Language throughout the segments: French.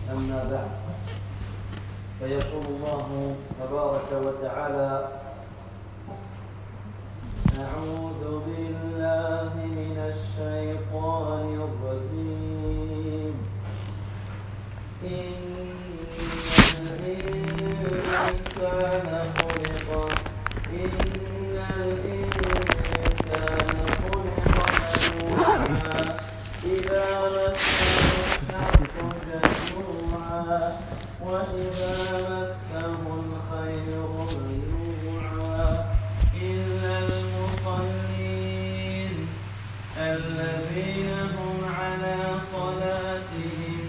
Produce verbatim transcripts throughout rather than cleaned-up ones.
أما بعد فيقول الله تبارك وتعالى أعوذ بالله من الشيطان الرجيم إن الإنسان خلق إن الإنسان خلق هلوعا إذا مسه الشر جزوعا وإذا مسه الخير منوعا إلا المصلين الذين هم على صلاتهم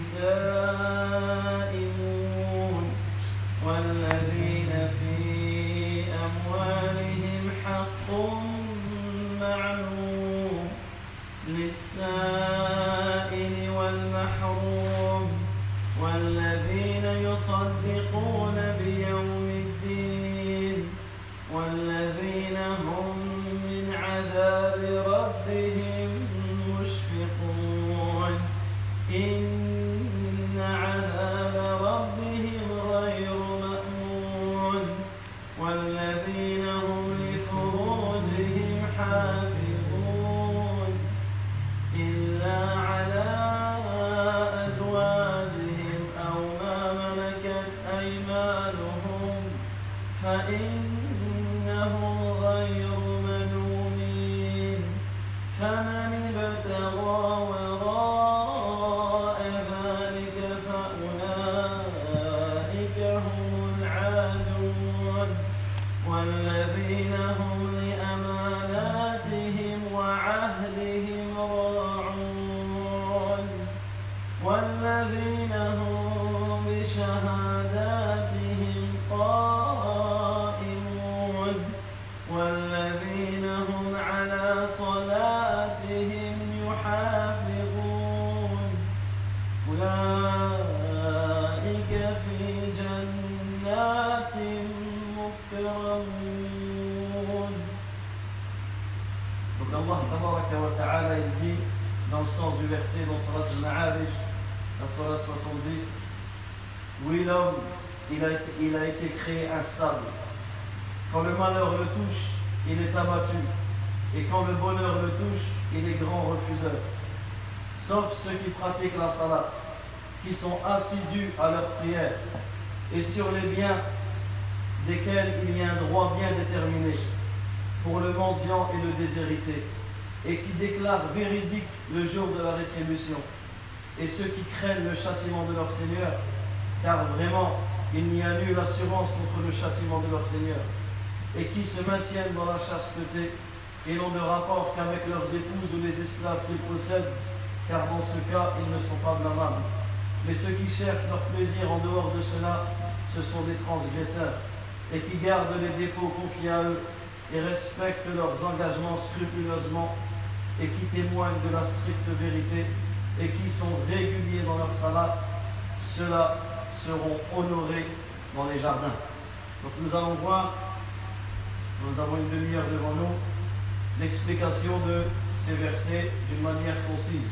دائمون والذين في أموالهم حق معلوم للسائل والمحروم والذين يصدقون بيوم الدين والذين هم من عذاب ربهم مشفقون إن عذاب ربهم غير مأمون والذين هم لفروجهم حافظون إلا على أزواجهم أو ما ملكت أيمانهم فإنهم غير ملومين فمن ابتغى وراء ذلك فأولئك هم العادون والذين هم لأماناتهم وعهدهم راعون والذين هم بشهاداتهم قائمون والذين هم على صلاتهم يحافظون أولئك في جنات مكرمون. Donc Allah tabaraka wa ta'ala il dit dans le sens du verset dans Salat al-Ma'arij, la Salat soixante-dix, oui l'homme il a, été, il a été créé instable. Quand le malheur le touche, il est abattu. Et quand le bonheur le touche, il est grand refuseur. Sauf ceux qui pratiquent la salat, qui sont assidus à leur prière, et sur les biens desquels il y a un droit bien déterminé, pour le mendiant et le déshérité, et qui déclarent véridique le jour de la rétribution, et ceux qui craignent le châtiment de leur Seigneur, car vraiment, il n'y a nulle assurance contre le châtiment de leur Seigneur, et qui se maintiennent dans la chasteté et n'ont de rapport qu'avec leurs épouses ou les esclaves qu'ils possèdent, car dans ce cas, ils ne sont pas blâmables. Mais ceux qui cherchent leur plaisir en dehors de cela, ce sont des transgresseurs, et qui gardent les dépôts confiés à eux, et respectent leurs engagements scrupuleusement, et qui témoignent de la stricte vérité, et qui sont réguliers dans leur salat, ceux-là seront honorés dans les jardins. Donc nous allons voir, nous avons une demi-heure devant nous, l'explication de ces versets d'une manière concise.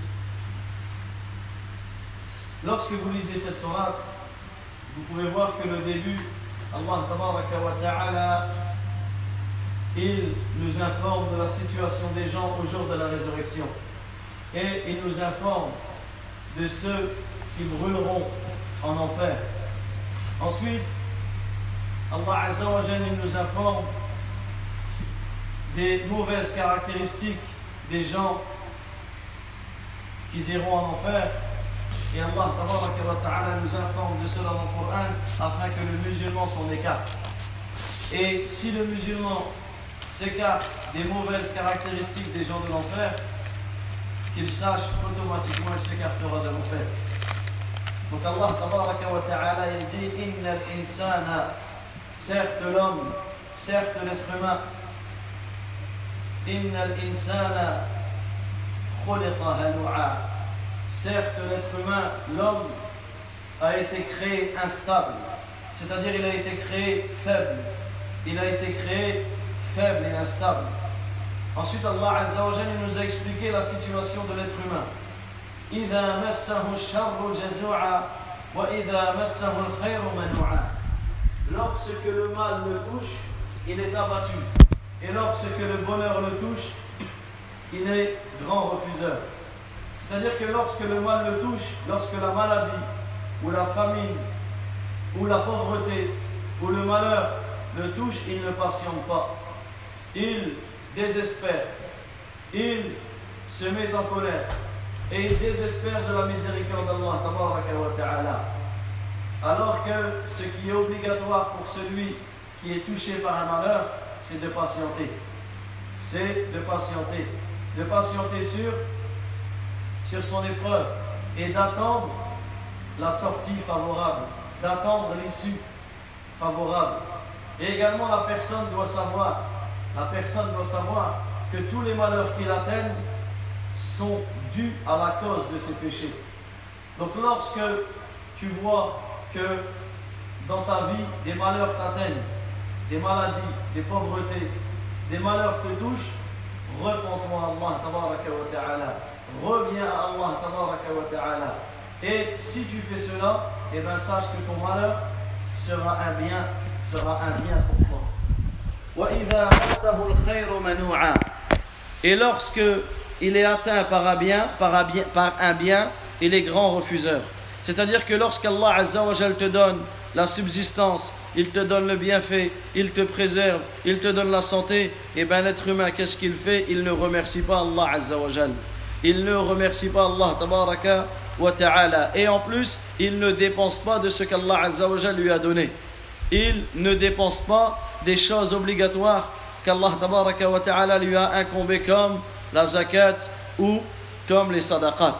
Lorsque vous lisez cette sourate, vous pouvez voir que le début, Allah tabaraka wa ta'ala, il nous informe de la situation des gens au jour de la résurrection. Et il nous informe de ceux qui brûleront en enfer. Ensuite, Allah Azza wa Jalla nous informe des mauvaises caractéristiques des gens qui iront en enfer. Et Allah tabaraka wa ta'ala nous informe de cela dans le Coran afin que le musulman s'en écarte. Et si le musulman s'écarte des mauvaises caractéristiques des gens de l'enfer, qu'il sache automatiquement il s'écartera de l'enfer. Donc Allah tabaraka wa ta'ala il dit Inna al-insana, certes l'homme, certes l'être humain, Inna al-insana khuliqa halu'a, certes l'être humain, l'homme a été créé instable, c'est-à-dire il a été créé faible, il a été créé faible et instable. Ensuite Allah Azza wa Jalla nous a expliqué la situation de l'être humain. إذا مسه الشر جزوعا, وَإِذَا مَسَّهُ الْخَيْرُ مَنُوعًا. Lorsque le mal le touche, il est abattu. Et lorsque le bonheur le touche, il est grand refuseur. C'est-à-dire que lorsque le mal le touche, lorsque la maladie, ou la famine, ou la pauvreté, ou le malheur le touche, il ne patiente pas. Il désespère. Il se met en colère. Et il désespère de la miséricorde d'Allah tabaraka wa ta'ala. Alors que ce qui est obligatoire pour celui qui est touché par un malheur, c'est de patienter. C'est de patienter. De patienter sur, sur son épreuve et d'attendre la sortie favorable, d'attendre l'issue favorable. Et également la personne doit savoir, la personne doit savoir que tous les malheurs qui l'atteignent sont dus à la cause de ses péchés. Donc lorsque tu vois que dans ta vie des malheurs t'atteignent, des maladies, des pauvretés, des malheurs te touchent, repens-toi à Allah tabaraka wa ta'ala, reviens à Allah tabaraka wa ta'ala. Et si tu fais cela, eh bien sache que ton malheur sera un bien, sera un bien pour toi. وَإِذَا مَسَّهُ الْخَيْرُ مَنُوعًا. Et lorsque il est atteint par un bien, par un bien, par un bien, il est grand refuseur. C'est-à-dire que lorsqu'Allah Azza wa Jal te donne la subsistance, il te donne le bienfait, il te préserve, il te donne la santé, et bien l'être humain, qu'est-ce qu'il fait? Il ne remercie pas Allah Azza wa Jal. Il ne remercie pas Allah Tabaraka wa Ta'ala. Et en plus, il ne dépense pas de ce qu'Allah Azza wa Jal lui a donné. Il ne dépense pas des choses obligatoires qu'Allah Tabaraka wa Ta'ala lui a incombées comme la zakat ou comme les sadaqat.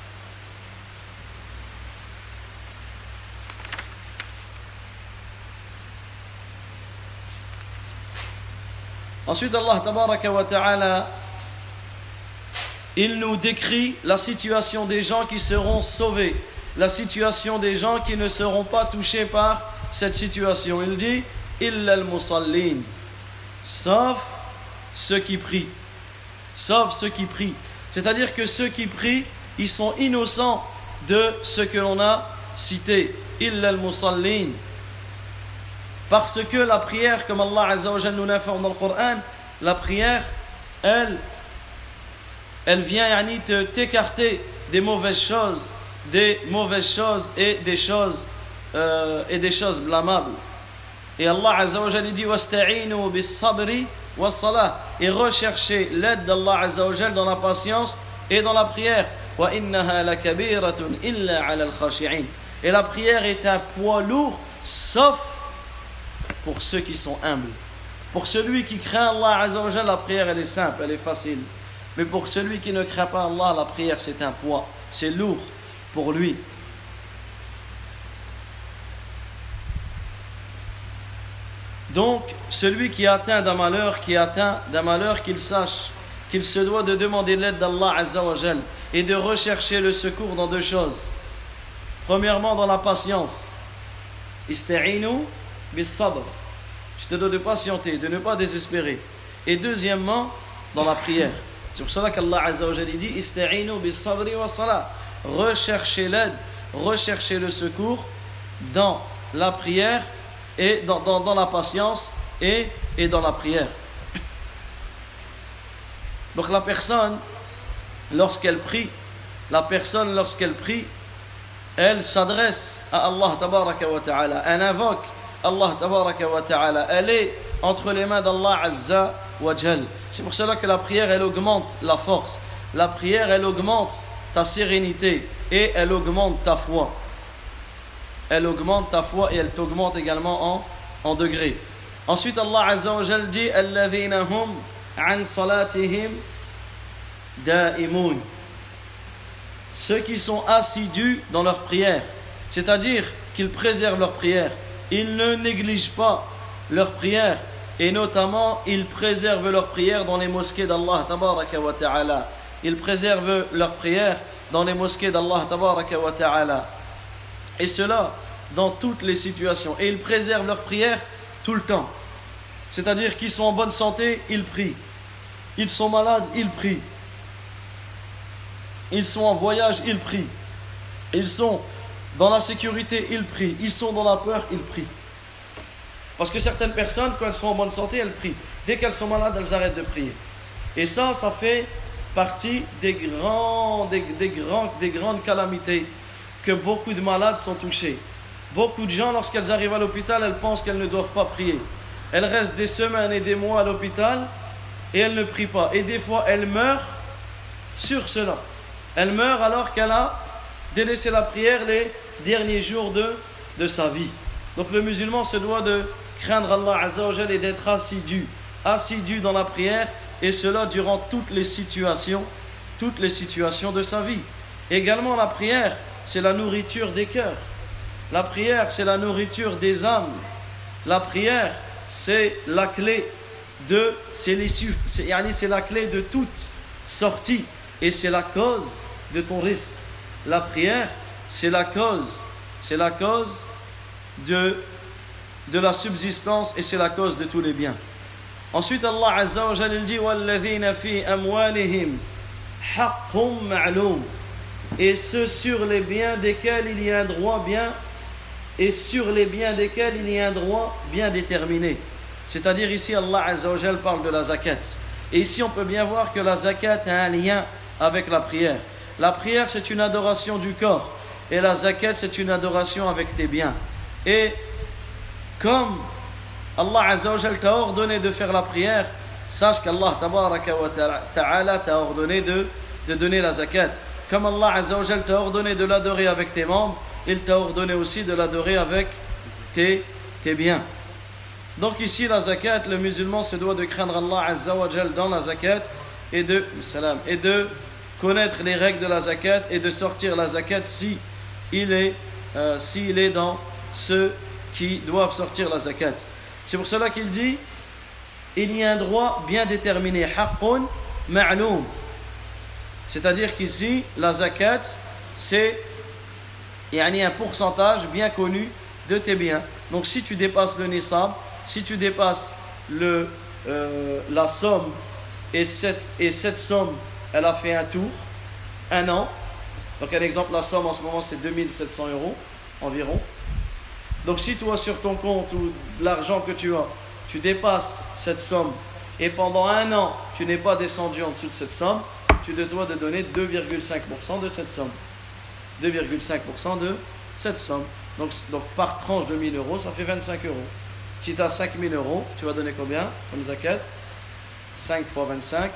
Ensuite, Allah Tabaraka wa Ta'ala, il nous décrit la situation des gens qui seront sauvés, la situation des gens qui ne seront pas touchés par cette situation. Il dit illa al-musallin, sauf ceux qui prient. Sauf ceux qui prient. C'est-à-dire que ceux qui prient, ils sont innocents de ce que l'on a cité. Illa al-musallin. Parce que la prière, comme Allah Azza wa Jalla nous l'informe dans le Coran, la prière, elle, elle vient yani, te, t'écarter des mauvaises choses, des mauvaises choses et des choses euh, et des choses blâmables. Et Allah Azza wa Jalla dit wasta'inu bis-sabri was-salah, et recherchez l'aide d'Allah Azza wa Jalla dans la patience et dans la prière. Wa innaha lakabiratun illa 'ala al-khashi'in. Et la prière est un poids lourd, sauf pour ceux qui sont humbles. Pour celui qui craint Allah Azza wa Jalla, la prière elle est simple, elle est facile. Mais pour celui qui ne craint pas Allah, la prière c'est un poids, c'est lourd pour lui. Donc, celui qui est atteint d'un malheur, qui est atteint d'un malheur, qu'il sache qu'il se doit de demander l'aide d'Allah Azza wa Jalla et de rechercher le secours dans deux choses. Premièrement, dans la patience. Ista'inu bis-sabr. Tu te dois de patienter, de ne pas désespérer. Et deuxièmement, dans la prière. C'est pour cela qu'Allah Azza wa Jalla dit Ista'inu bis-sabri was-salah. Recherchez l'aide, recherchez le secours dans la prière et dans, dans, dans la patience et, et dans la prière. Donc la personne, lorsqu'elle prie, la personne lorsqu'elle prie, elle s'adresse à Allah Tabaraka wa Ta'ala, elle invoque Allah Tabaraka wa Ta'ala, elle est entre les mains d'Allah Azza wa Jal. C'est pour cela que la prière elle augmente la force, la prière elle augmente ta sérénité et elle augmente ta foi. Elle augmente ta foi et elle t'augmente également en, en degrés. Ensuite, Allah Azza wa Jal dit alladhina hum an salatihim da'imun. Ceux qui sont assidus dans leur prière, c'est-à-dire qu'ils préservent leur prière, ils ne négligent pas leur prière et notamment ils préservent leur prière dans les mosquées d'Allah Tabaraka wa Ta'ala. Ils préservent leur prière dans les mosquées d'Allah Tabaraka wa Ta'ala. Et cela dans toutes les situations. Et ils préservent leur prière tout le temps. C'est-à-dire qu'ils sont en bonne santé, ils prient. Ils sont malades, ils prient. Ils sont en voyage, ils prient. Ils sont dans la sécurité, ils prient. Ils sont dans la peur, ils prient. Parce que certaines personnes, quand elles sont en bonne santé, elles prient. Dès qu'elles sont malades, elles arrêtent de prier. Et ça, ça fait partie des, grands, des, des, grands, des grandes calamités que beaucoup de malades sont touchés. Beaucoup de gens, lorsqu'elles arrivent à l'hôpital, elles pensent qu'elles ne doivent pas prier. Elles restent des semaines et des mois à l'hôpital et elles ne prient pas. Et des fois, elles meurent sur cela. Elles meurent alors qu'elle a délaissé la prière les derniers jours de, de sa vie. Donc le musulman se doit de craindre Allah Azza wa Jal et d'être assidu, assidu dans la prière, et cela durant toutes les situations, toutes les situations de sa vie. Également la prière, c'est la nourriture des cœurs. La prière, c'est la nourriture des âmes. La prière, c'est la clé de, c'est l'issue, c'est, c'est la clé de toute sortie, et c'est la cause de ton risque. La prière, c'est la cause, c'est la cause de, de la subsistance, et c'est la cause de tous les biens. Ensuite, Allah Azza wa Jalla dit وَالَّذِينَ فِي أَمْوَالِهِمْ حَقٌّ مَعْلُومٌ, et ceux sur les biens desquels il y a un droit bien, et sur les biens desquels il y a un droit bien déterminé. C'est-à-dire ici Allah Azza wa Jalla parle de la zakat. Et ici on peut bien voir que la zakat a un lien avec la prière. La prière, c'est une adoration du corps, et la zakat, c'est une adoration avec tes biens. Et comme Allah Azza wa Jal t'a ordonné de faire la prière, sache qu'Allah Tabaraka wa Ta'ala t'a ordonné de, de donner la zakat. Comme Allah Azza wa Jal t'a ordonné de l'adorer avec tes membres, il t'a ordonné aussi de l'adorer avec tes, tes biens. Donc ici la zakat, le musulman se doit de craindre Allah Azza wa Jal dans la zakat et de, salam, et de connaître les règles de la zakat et de sortir la zakat si il est, euh, si il est dans ceux qui doivent sortir la zakat. C'est pour cela qu'il dit il y a un droit bien déterminé, haqqun ma'loum. C'est-à-dire qu'ici la zakat, c'est il y a un pourcentage bien connu de tes biens. Donc si tu dépasses le nisab, si tu dépasses le, euh, la somme, et cette, et cette somme elle a fait un tour, un an. Donc un exemple, la somme en ce moment c'est deux mille sept cents euros environ. Donc si toi sur ton compte ou l'argent que tu as, tu dépasses cette somme et pendant un an tu n'es pas descendu en dessous de cette somme, tu te dois de donner deux virgule cinq pour cent de cette somme. deux virgule cinq pour cent de cette somme. Donc, donc par tranche de mille euros, ça fait vingt-cinq euros. Si tu as cinq mille euros, tu vas donner combien comme zakat? cinq fois vingt-cinq,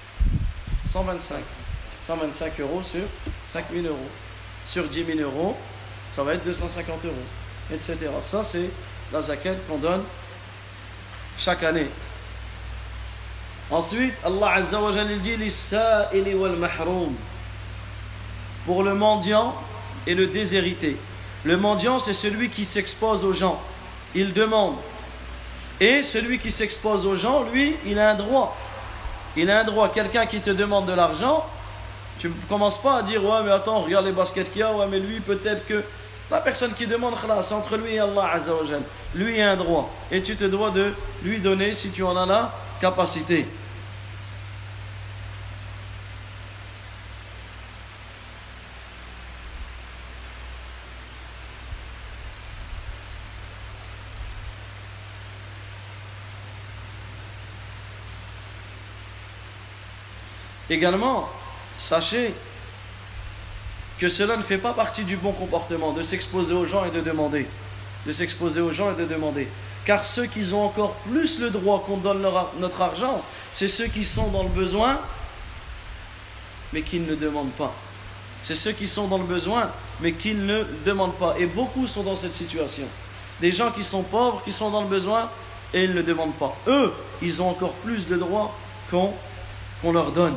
cent vingt-cinq. cent vingt-cinq euros sur cinq mille euros. Sur dix mille euros, ça va être deux cent cinquante euros, et cetera. Ça, c'est la zakat qu'on donne chaque année. Ensuite, Allah Azza wa Jalla dit lis-sa'ili wal mahroum, pour le mendiant et le déshérité. Le mendiant, c'est celui qui s'expose aux gens. Il demande. Et celui qui s'expose aux gens, lui, il a un droit. Il a un droit. Quelqu'un qui te demande de l'argent, tu ne commences pas à dire ouais, mais attends, regarde les baskets qu'il y a, ouais, mais lui, peut-être que. La personne qui demande, c'est entre lui et Allah Azza wa Jalla. Lui a un droit. Et tu te dois de lui donner si tu en as la capacité. Également, sachez que cela ne fait pas partie du bon comportement de s'exposer aux gens et de demander. De s'exposer aux gens et de demander. Car ceux qui ont encore plus le droit qu'on donne leur, notre argent, c'est ceux qui sont dans le besoin, mais qui ne le demandent pas. C'est ceux qui sont dans le besoin, mais qui ne le demandent pas. Et beaucoup sont dans cette situation. Des gens qui sont pauvres, qui sont dans le besoin, et ils ne le demandent pas. Eux, ils ont encore plus de droits qu'on, qu'on leur donne.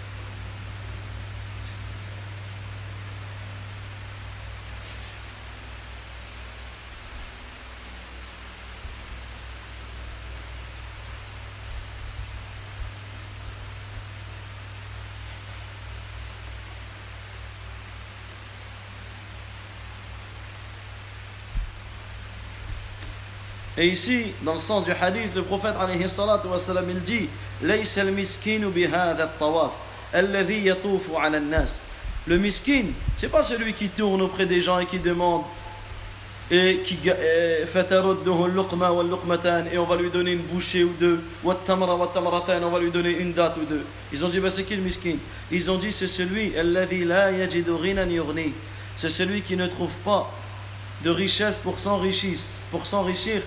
Et ici, dans le sens du hadith, le prophète alayhi salatu wa salam, il dit: "Laysa al-miskinu bi hadha at-tawaf alladhi yatufu 'ala an-nas." Le miskin, c'est pas celui qui tourne auprès des gens et qui demande et qui et on va lui donner une bouchée ou deux, on va lui donner une date ou deux. Ils ont dit bah, c'est qui le miskin? Ils ont dit c'est celui c'est celui qui ne trouve pas de richesse pour s'enrichir pour s'enrichir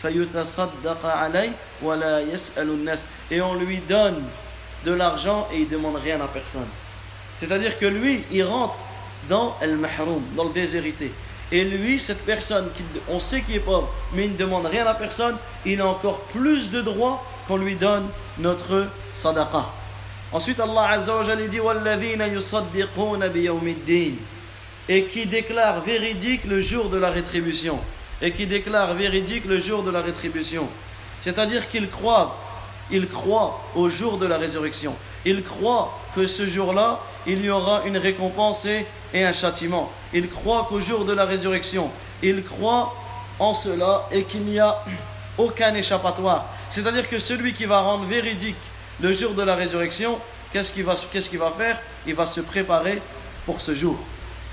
et on lui donne de l'argent et il ne demande rien à personne. C'est-à-dire que lui il rentre dans el mahroum, dans le déshérité. Et lui, cette personne, on sait qu'il est pauvre, mais il ne demande rien à personne, il a encore plus de droits qu'on lui donne notre sadaqa. Ensuite, Allah Azza wa Jalla dit وَالَّذِينَ يُصَدِّقُونَ بِيَوْمِ الدِّينِ et qui déclare véridique le jour de la rétribution. Et qui déclare véridique le jour de la rétribution. C'est-à-dire qu'il croit, il croit au jour de la résurrection. Il croit que ce jour-là, il y aura une récompense et, et un châtiment. Il croit qu'au jour de la résurrection, il croit en cela et qu'il n'y a aucun échappatoire. C'est-à-dire que celui qui va rendre véridique le jour de la résurrection, qu'est-ce qu'il va, qu'est-ce qu'il va faire? Il va se préparer pour ce jour.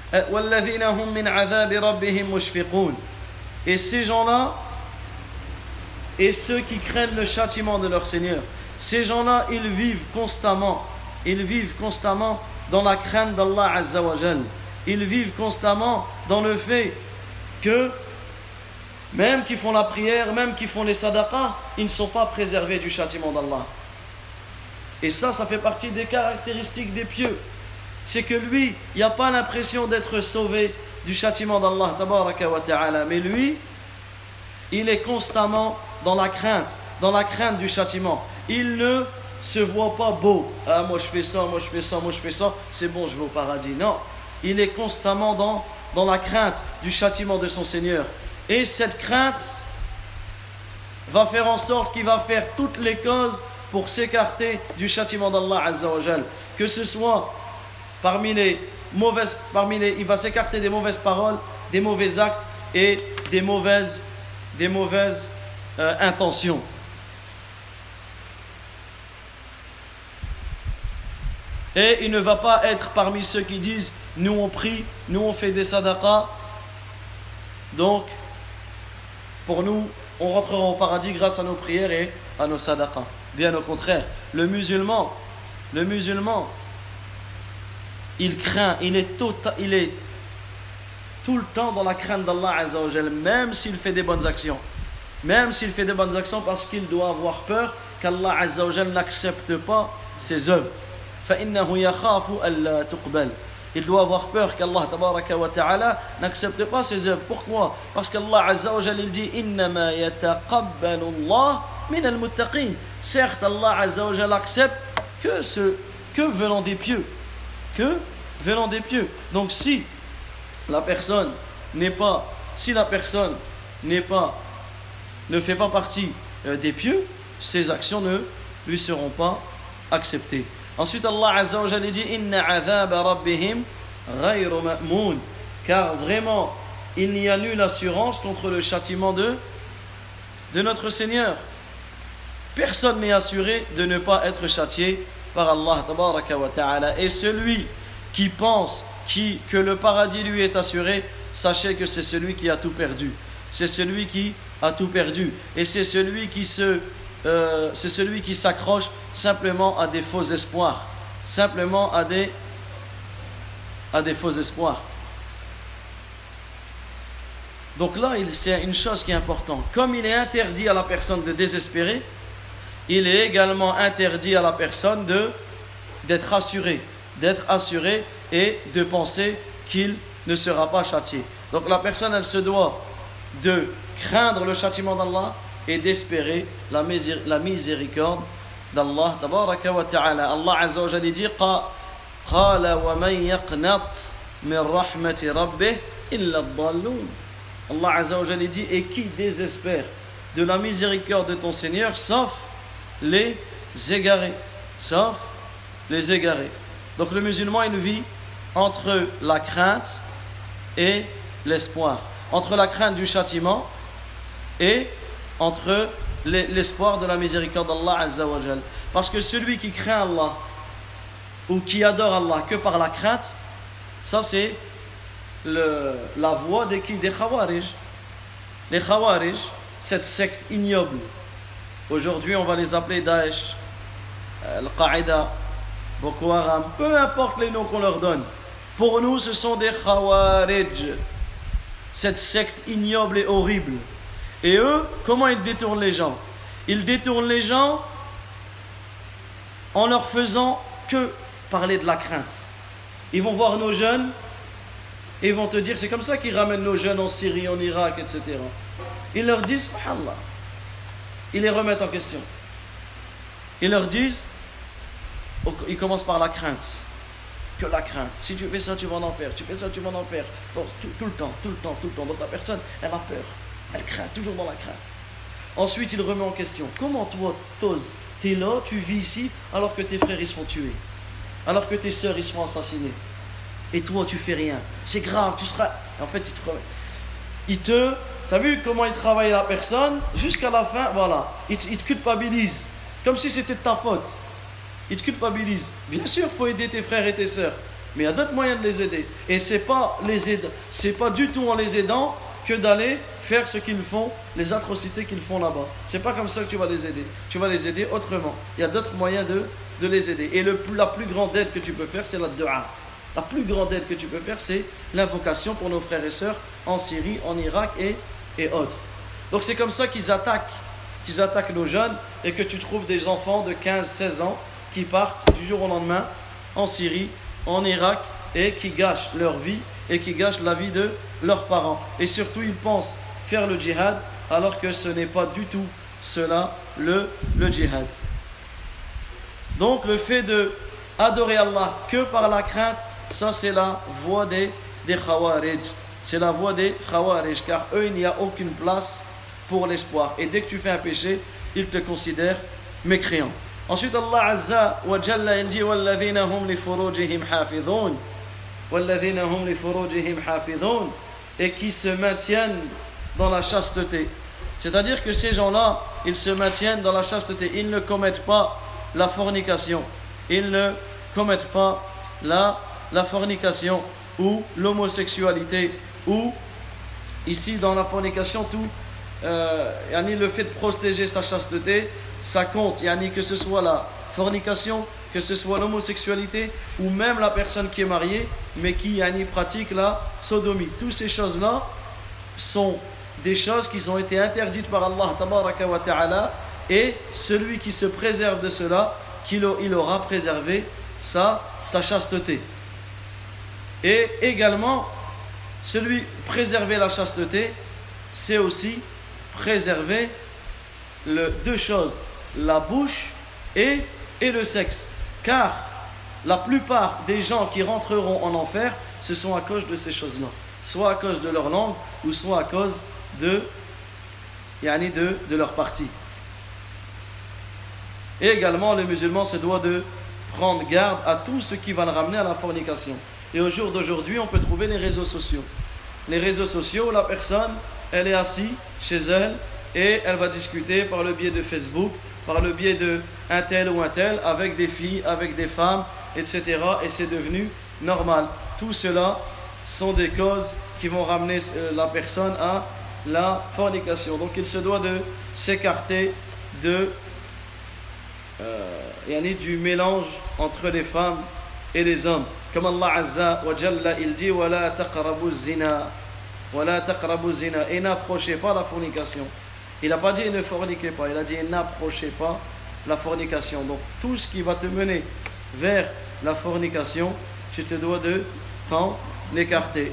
Et ces gens-là, et ceux qui craignent le châtiment de leur Seigneur, ces gens-là, ils vivent constamment, ils vivent constamment dans la crainte d'Allah Azza wa Jal. Ils vivent constamment dans le fait que, même qu'ils font la prière, même qu'ils font les sadaqas, ils ne sont pas préservés du châtiment d'Allah. Et ça, ça fait partie des caractéristiques des pieux. C'est que lui, il n'y a pas l'impression d'être sauvé du châtiment d'Allah, tabaraka wa ta'ala. Mais lui, il est constamment dans la crainte, dans la crainte du châtiment. Il ne se voit pas beau. Ah, moi je fais ça, moi je fais ça, moi je fais ça, c'est bon, je vais au paradis. Non, il est constamment dans, dans la crainte du châtiment de son Seigneur. Et cette crainte va faire en sorte qu'il va faire toutes les causes pour s'écarter du châtiment d'Allah Azza wa Jal. Que ce soit parmi les mauvaises, parmi les, il va s'écarter des mauvaises paroles, des mauvais actes et des mauvaises, des mauvaises euh, intentions. Et il ne va pas être parmi ceux qui disent nous on prie, nous on fait des sadaqas, donc pour nous on rentrera au paradis grâce à nos prières et à nos sadaqas. Bien au contraire, le musulman, le musulman, il craint, il est, tota, il est tout le temps dans la crainte d'Allah Azza wa Jal, même s'il fait des bonnes actions. Même s'il fait des bonnes actions parce qu'il doit avoir peur qu'Allah Azza wa Jal n'accepte pas ses œuvres. فَإِنَّهُ يَخَافُ أَلَّا تُقْبَلْ. Il doit avoir peur qu'Allah tabaraka wa ta'ala n'accepte pas ses œuvres. Pourquoi? Parce qu'Allah Azza wa Jal il dit إِنَّمَا يَتَقَبَّلُ اللَّهُ مِنَ الْمُتَّقِينَ. Certes, Allah Azza wa Jal accepte que, ce, que venant des pieux. Que venant des pieux. Donc si la personne n'est pas, si la personne n'est pas, ne fait pas partie euh, des pieux, ses actions ne lui seront pas acceptées. Ensuite, Allah Azza wa Jalla dit Inna azaba rabbihim ghayru ma'moun. Car vraiment, il n'y a nulle assurance contre le châtiment de, de notre Seigneur. Personne n'est assuré de ne pas être châtié par Allah tabaraka wa ta'ala. Et celui qui pense qui, que le paradis lui est assuré, sachez que c'est celui qui a tout perdu. C'est celui qui a tout perdu. Et c'est celui qui se Euh, c'est celui qui s'accroche simplement à des faux espoirs, simplement à des, à des faux espoirs. Donc là, c'est une chose qui est importante. Comme il est interdit à la personne de désespérer, il est également interdit à la personne de, d'être assuré, d'être assuré et de penser qu'il ne sera pas châtié. Donc la personne, elle se doit de craindre le châtiment d'Allah et d'espérer la, misé- la miséricorde d'Allah tabaraka wa ta'ala. Allah Azza wa Jalla dit qala wa man yaqnat min rahmati rabbih illa ad-dallun. Allah Azza wa Jalla dit et qui désespère de la miséricorde de ton Seigneur sauf les égarés, sauf les égarés. Donc le musulman il vit entre la crainte et l'espoir, entre la crainte du châtiment et entre l'espoir de la miséricorde d'Allah Azza wa Jal. Parce que celui qui craint Allah ou qui adore Allah que par la crainte, Ça c'est le, la voie des qui des Khawarij. Les Khawarij, cette secte ignoble. Aujourd'hui, on va les appeler Daesh, Al-Qaïda, Boko Haram, peu importe les noms qu'on leur donne. Pour nous, ce sont des Khawarij, cette secte ignoble et horrible. Et eux, comment ils détournent les gens? Ils détournent les gens en leur faisant que parler de la crainte. Ils vont voir nos jeunes et ils vont te dire, c'est comme ça qu'ils ramènent nos jeunes en Syrie, en Irak, et cetera. Ils leur disent, subhanallah, ils les remettent en question. Ils leur disent, ils commencent par la crainte. Que la crainte. Si tu fais ça, tu vas en enfer. Tu fais ça, tu vas en enfer. Tout, tout, tout le temps, tout le temps, tout le temps. Donc la personne, elle a peur. Elle craint, toujours dans la crainte. Ensuite, il remet en question. Comment toi, t'oses, t'es là, tu vis ici, alors que tes frères, ils se font tuer. Alors que tes sœurs, ils se font assassiner. Et toi, tu fais rien. C'est grave, tu seras... En fait, il te... Il te... T'as vu comment il travaille la personne? Jusqu'à la fin, voilà. Il te, il te culpabilise. Comme si c'était de ta faute. Il te culpabilise. Bien sûr, il faut aider tes frères et tes sœurs. Mais il y a d'autres moyens de les aider. Et c'est pas les aide... c'est pas du tout en les aidant que d'aller faire ce qu'ils font, les atrocités qu'ils font là-bas. C'est pas comme ça que tu vas les aider. Tu vas les aider autrement. Il y a d'autres moyens de, de les aider. Et le, la plus grande aide que tu peux faire, c'est la dua. La plus grande aide que tu peux faire, c'est l'invocation pour nos frères et sœurs en Syrie, en Irak et, et autres. Donc c'est comme ça qu'ils attaquent, qu'ils attaquent nos jeunes et que tu trouves des enfants de quinze seize ans qui partent du jour au lendemain en Syrie, en Irak et qui gâchent leur vie et qui gâchent la vie de leurs parents. Et surtout, ils pensent faire le djihad alors que ce n'est pas du tout cela le, le djihad. Donc le fait de adorer Allah que par la crainte, ça c'est la voie des, des Khawarij. C'est la voie des Khawarij, car eux, il n'y a aucune place pour l'espoir. Et dès que tu fais un péché, ils te considèrent mécréant. Ensuite, Allah Azza wa Jalla il dit وَالَّذِينَ هُمْ لِفُرُوجِهِمْ حَافِظُونَ وَالَّذِينَ هُمْ لِفُرُوجِهِمْ حَافِظُونَ et qui se maintiennent dans la chasteté. C'est-à-dire que ces gens-là, ils se maintiennent dans la chasteté. Ils ne commettent pas la fornication. Ils ne commettent pas la, la fornication ou l'homosexualité ou ici dans la fornication tout euh, yani le fait de protéger sa chasteté, ça compte, yani que ce soit la fornication, que ce soit l'homosexualité ou même la personne qui est mariée mais qui yani, pratique la sodomie. Toutes ces choses-là sont des choses qui ont été interdites par Allah tabaraka wa ta'ala, et celui qui se préserve de cela, qu'il il aura préservé sa, sa chasteté. Et également, celui préserver la chasteté, c'est aussi préserver le, deux choses, la bouche et, et le sexe. Car la plupart des gens qui rentreront en enfer, ce sont à cause de ces choses-là. Soit à cause de leur langue, ou soit à cause de, yani de, de leur partie. Et également, le musulman se doit de prendre garde à tout ce qui va le ramener à la fornication. Et au jour d'aujourd'hui, on peut trouver les réseaux sociaux. Les réseaux sociaux, la personne, elle est assise chez elle et elle va discuter par le biais de Facebook, par le biais de un tel ou un tel, avec des filles, avec des femmes, et cetera. Et c'est devenu normal. Tout cela sont des causes qui vont ramener la personne à la fornication. Donc il se doit de s'écarter de euh, yani du mélange entre les femmes et les hommes. Comme Allah Azza wa Jalla il dit وَلَا تَقْرَبُوا الزِّنَا وَلَا تَقْرَبُوا الزِّنَا et n'approchez pas la fornication. Il n'a pas dit ne forniquez pas, il a dit n'approchez pas la fornication. Donc tout ce qui va te mener vers la fornication, tu te dois de t'en écarter.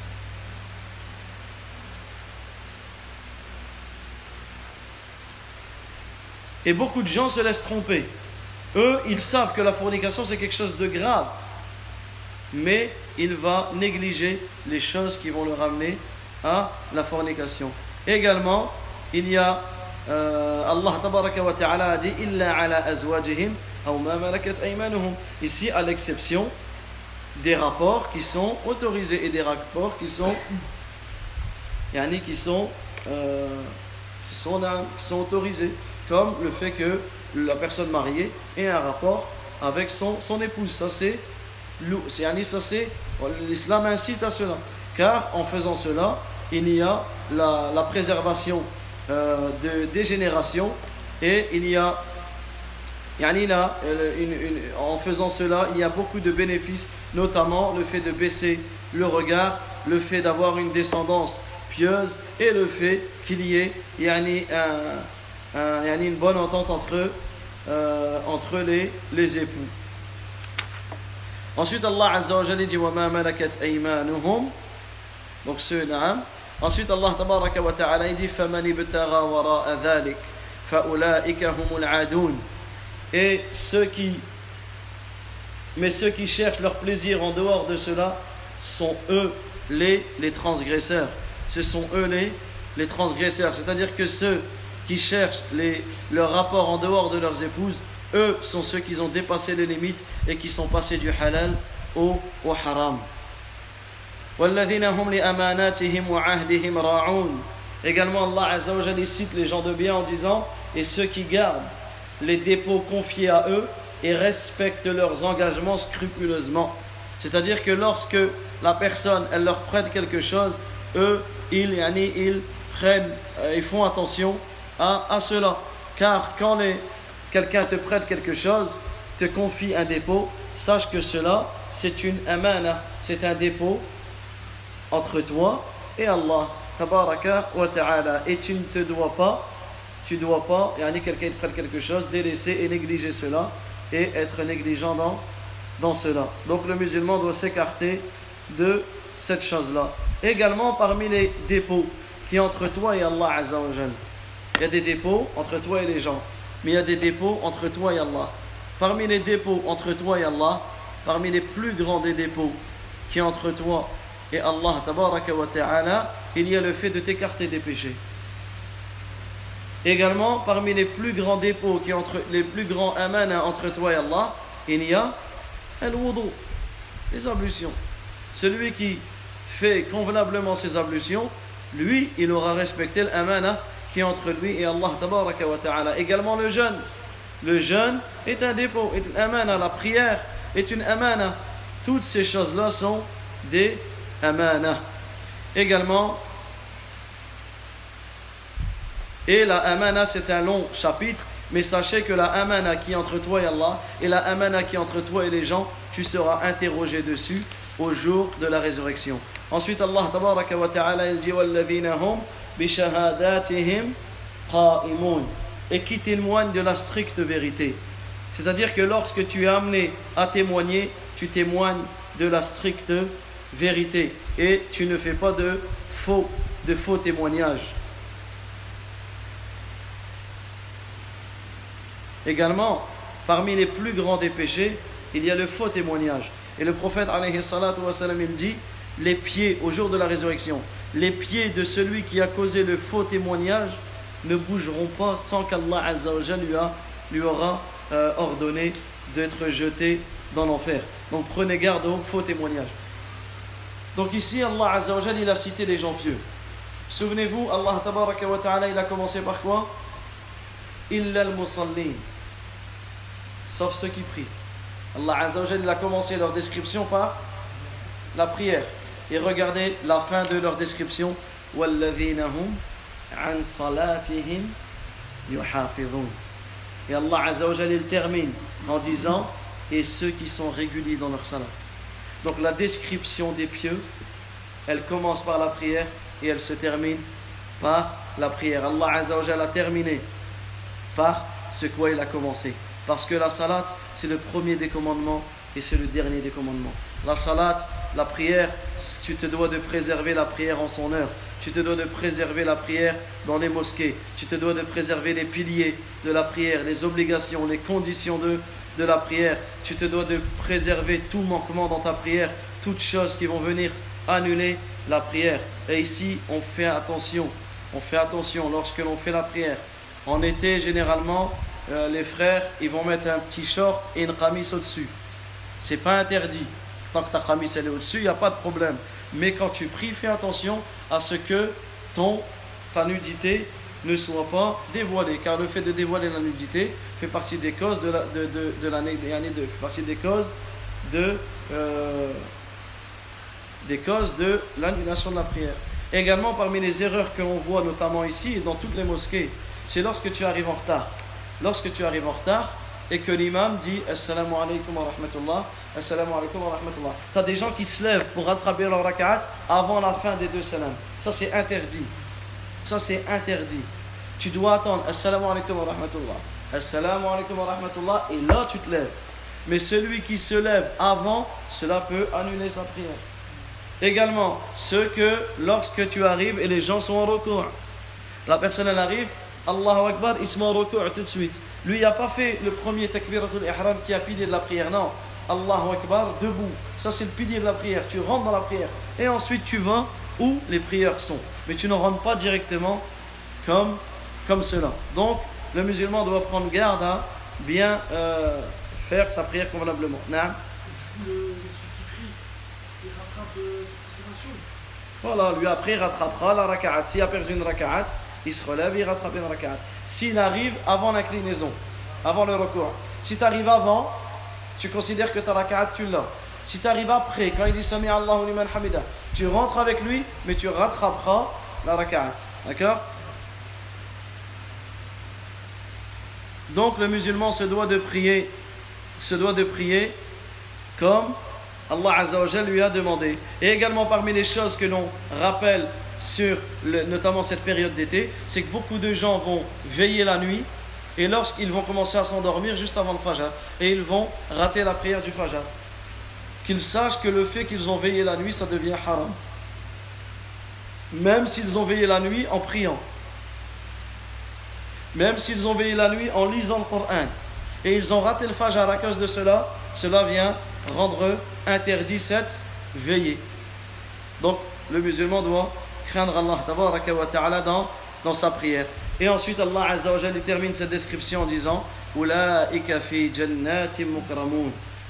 Et beaucoup de gens se laissent tromper. Eux, ils savent que la fornication c'est quelque chose de grave, mais il va négliger les choses qui vont le ramener à la fornication. Également, il y a euh, Allah tabaraka wa ta'ala a dit illa ala azwajihim aw ma malakat aymanuhum. Ici, à l'exception des rapports qui sont autorisés et des rapports qui sont yani qui sont euh, qui sont, qui sont autorisés, comme le fait que la personne mariée ait un rapport avec son, son épouse. Ça c'est ça c'est, l'islam incite à cela, car en faisant cela, il y a la, la préservation euh, de, des générations, et il y a, yani là, une, une, en faisant cela, il y a beaucoup de bénéfices, notamment le fait de baisser le regard, le fait d'avoir une descendance pieuse, et le fait qu'il y ait yani, un, un, yani une bonne entente entre, euh, entre les, les époux. Ensuite, Allah Azza wa Jalla dit وَمَا مَلَكَتْ أَيْمَانُهُمْ. Donc ce naam. Ensuite, Allah Tabaraka wa Ta'ala dit فَمَنِ ابْتَغَى وَرَاءَ ذَلِكَ فَأُولَٰئِكَ هُمُ الْعَادُونَ. Et ceux qui, mais ceux qui cherchent leur plaisir en dehors de cela sont eux les, les transgresseurs. Ce sont eux les, les transgresseurs. C'est-à-dire que ceux qui cherchent les, leur rapport en dehors de leurs épouses, eux sont ceux qui ont dépassé les limites et qui sont passés du halal au, au haram. وَالَّذِينَ هُمْ لِأَمَانَاتِهِمْ وَعَهْدِهِمْ رَاعُونَ. Également, Allah Azza wa Jalla cite les gens de bien en disant et ceux qui gardent les dépôts confiés à eux et respectent leurs engagements scrupuleusement. C'est-à-dire que lorsque la personne elle leur prête quelque chose, eux ils, yani, ils prennent, euh, ils font attention à, à cela. Car quand les, quelqu'un te prête quelque chose, te confie un dépôt, sache que cela c'est une amana, c'est un dépôt entre toi et Allah tabaraka wa ta'ala, et tu ne te dois pas tu dois pas, yani quelqu'un te prête quelque chose, délaisser et négliger cela et être négligent dans, dans cela. Donc le musulman doit s'écarter de cette chose-là. Également parmi les dépôts qui entre toi et Allah Azza wa Jal, il y a des dépôts entre toi et les gens, mais il y a des dépôts entre toi et Allah. Parmi les dépôts entre toi et Allah, parmi les plus grands des dépôts qui entre toi et Allah tabaraka wa ta'ala, il y a le fait de t'écarter des péchés. Également, parmi les plus grands dépôts, qui entre, les plus grands amana entre toi et Allah, il y a al-wudu, les ablutions. Celui qui fait convenablement ses ablutions, lui, il aura respecté l'amana qui est entre lui et Allah tabaraka wa ta'ala. Également le jeûne. Le jeûne est un dépôt, est une amana. La prière est une amana. Toutes ces choses-là sont des amana. Également, et la amana c'est un long chapitre, mais sachez que la amana qui est entre toi et Allah et la amana qui est entre toi et les gens, tu seras interrogé dessus au jour de la résurrection. Ensuite Allah tabaraka wa ta'ala il dit walladhina hum bi shahadatihim qa'imun, et qui témoignent de la stricte vérité. C'est-à-dire que lorsque tu es amené à témoigner, tu témoignes de la stricte vérité et tu ne fais pas de faux de faux témoignages. Également, parmi les plus grands des péchés, il y a le faux témoignage. Et le prophète alayhi salatu wa salam, il dit, les pieds, au jour de la résurrection, les pieds de celui qui a causé le faux témoignage ne bougeront pas sans qu'Allah Azza wa Jalla lui, a, lui aura euh, ordonné d'être jeté dans l'enfer. Donc prenez garde aux faux témoignages. Donc ici, Allah Azza wa Jalla, il a cité les gens pieux. Souvenez-vous, Allah tabaraka wa ta'ala, il a commencé par quoi? Illa al-musallin, sauf ceux qui prient. Allah Azza wa Jalla, il a commencé leur description par la prière. Et regardez la fin de leur description. Walladhina hum an salatihim yuhafidhun. Et Allah Azza wa Jalla, il termine en disant et ceux qui sont réguliers dans leur salat. Donc la description des pieux, elle commence par la prière et elle se termine par la prière. Allah Azza wa Jalla a terminé par ce quoi il a commencé. Parce que la salat, c'est le premier des commandements et c'est le dernier des commandements. La salat, la prière, tu te dois de préserver la prière en son heure. Tu te dois de préserver la prière dans les mosquées. Tu te dois de préserver les piliers de la prière, les obligations, les conditions de, de la prière. Tu te dois de préserver tout manquement dans ta prière, toutes choses qui vont venir annuler la prière. Et ici, on fait attention. On fait attention lorsque l'on fait la prière. En été, généralement, euh, les frères, ils vont mettre un petit short et une qamis au-dessus. C'est pas interdit. Tant que ta qamis elle est au-dessus, il n'y a pas de problème. Mais quand tu pries, fais attention à ce que ton, ta nudité ne soit pas dévoilée. Car le fait de dévoiler la nudité fait partie des causes de la, de, de, de la, de, fait partie des causes de, euh, des causes de l'annulation de la prière. Également, parmi les erreurs que l'on voit notamment ici et dans toutes les mosquées, c'est lorsque tu arrives en retard. Lorsque tu arrives en retard et que l'imam dit Assalamu alaikum wa rahmatullah, Assalamu alaikum wa rahmatullah. Tu as des gens qui se lèvent pour rattraper leur raka'at avant la fin des deux salams. Ça, c'est interdit. Ça, c'est interdit. Tu dois attendre Assalamu alaikum wa rahmatullah, Assalamu alaikum wa rahmatullah, et là tu te lèves. Mais celui qui se lève avant, cela peut annuler sa prière. Également, ce que lorsque tu arrives et les gens sont en recours, la personne elle arrive, Allahu Akbar, il se met en recours tout de suite. Lui, il n'a pas fait le premier takbiratul ihram qui a pilier de la prière, non. Allahu Akbar, debout. Ça, c'est le pilier de la prière. Tu rentres dans la prière. Et ensuite, tu vas où les prières sont. Mais tu ne rentres pas directement comme, comme cela. Donc, le musulman doit prendre garde à bien euh, faire sa prière convenablement. Naam. Du coup, le, celui qui prie, il rattrape euh, ses concentrations. Voilà, lui après, il rattrapera la raka'at. S'il a perdu une raka'at, il se relève et il rattrape une raka'at. S'il arrive avant l'inclinaison, avant le recours. Si tu arrives avant, tu considères que ta raka'at, tu l'as. Si tu arrives après, quand il dit Sami Allahu liman hamida, tu rentres avec lui, mais tu rattraperas la raka'at. D'accord? Donc le musulman se doit de prier, se doit de prier comme Allah Azza wa Jalla lui a demandé. Et également parmi les choses que l'on rappelle sur le, notamment cette période d'été, c'est que beaucoup de gens vont veiller la nuit et lorsqu'ils vont commencer à s'endormir juste avant le Fajr, et ils vont rater la prière du Fajr. Qu'ils sachent que le fait qu'ils ont veillé la nuit, ça devient haram. Même s'ils ont veillé la nuit en priant. Même s'ils ont veillé la nuit en lisant le Coran. Et ils ont raté le Fajr à cause de cela, cela vient rendre interdit cette veillée. Donc, le musulman doit craindre Allah tabaraka wa ta'ala dans, dans sa prière. Et ensuite, Allah Azza wa Jalla termine cette description en disant Ulaika fi jannatim mukramun.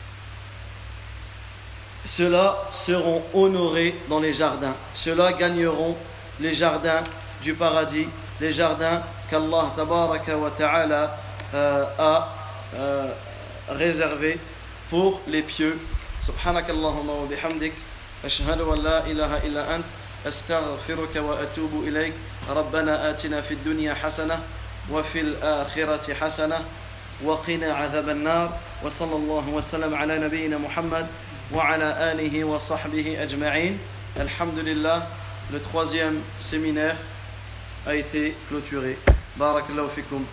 Ceux-là seront honorés dans les jardins. Ceux-là gagneront les jardins du paradis, les jardins qu'Allah tabaraka wa ta'ala euh, a euh, réservés pour les pieux. Subhanakallahumma wa bihamdik, ashhadu an la ilaha illa ant, astaghfiruka wa atubu ilayk. ربنا آتنا في الدنيا حسنة وفي الآخرة حسنة وقنا عذاب النار وصلى الله وسلم على نبينا محمد وعلى آله وصحبه أجمعين. الحمد لله. Le troisième séminaire a été clôturé. Barakallahu fikum.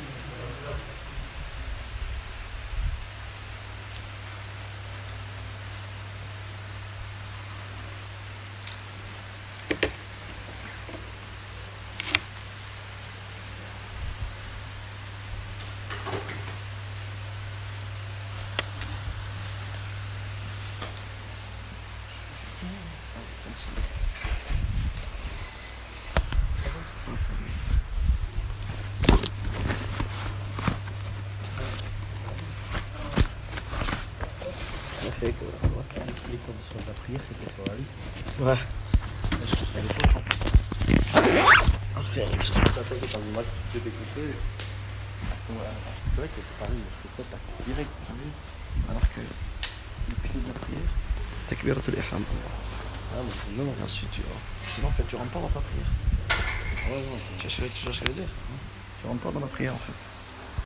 Les conditions de la prière, c'était sur la liste. Ouais. Je trouve qu'à l'époque, en fait, je suis content que quand moi qui s'est découpé. C'est vrai que Paris, je fais ça direct. Alors que le pilier de la prière, takbiratul ihram. Ah, mais non, non. Et ensuite tu vas. Sinon, en fait, tu rentres pas dans ta prière. Ouais, non, tu vois ce que je veux dire. Tu rentres pas dans la prière en fait.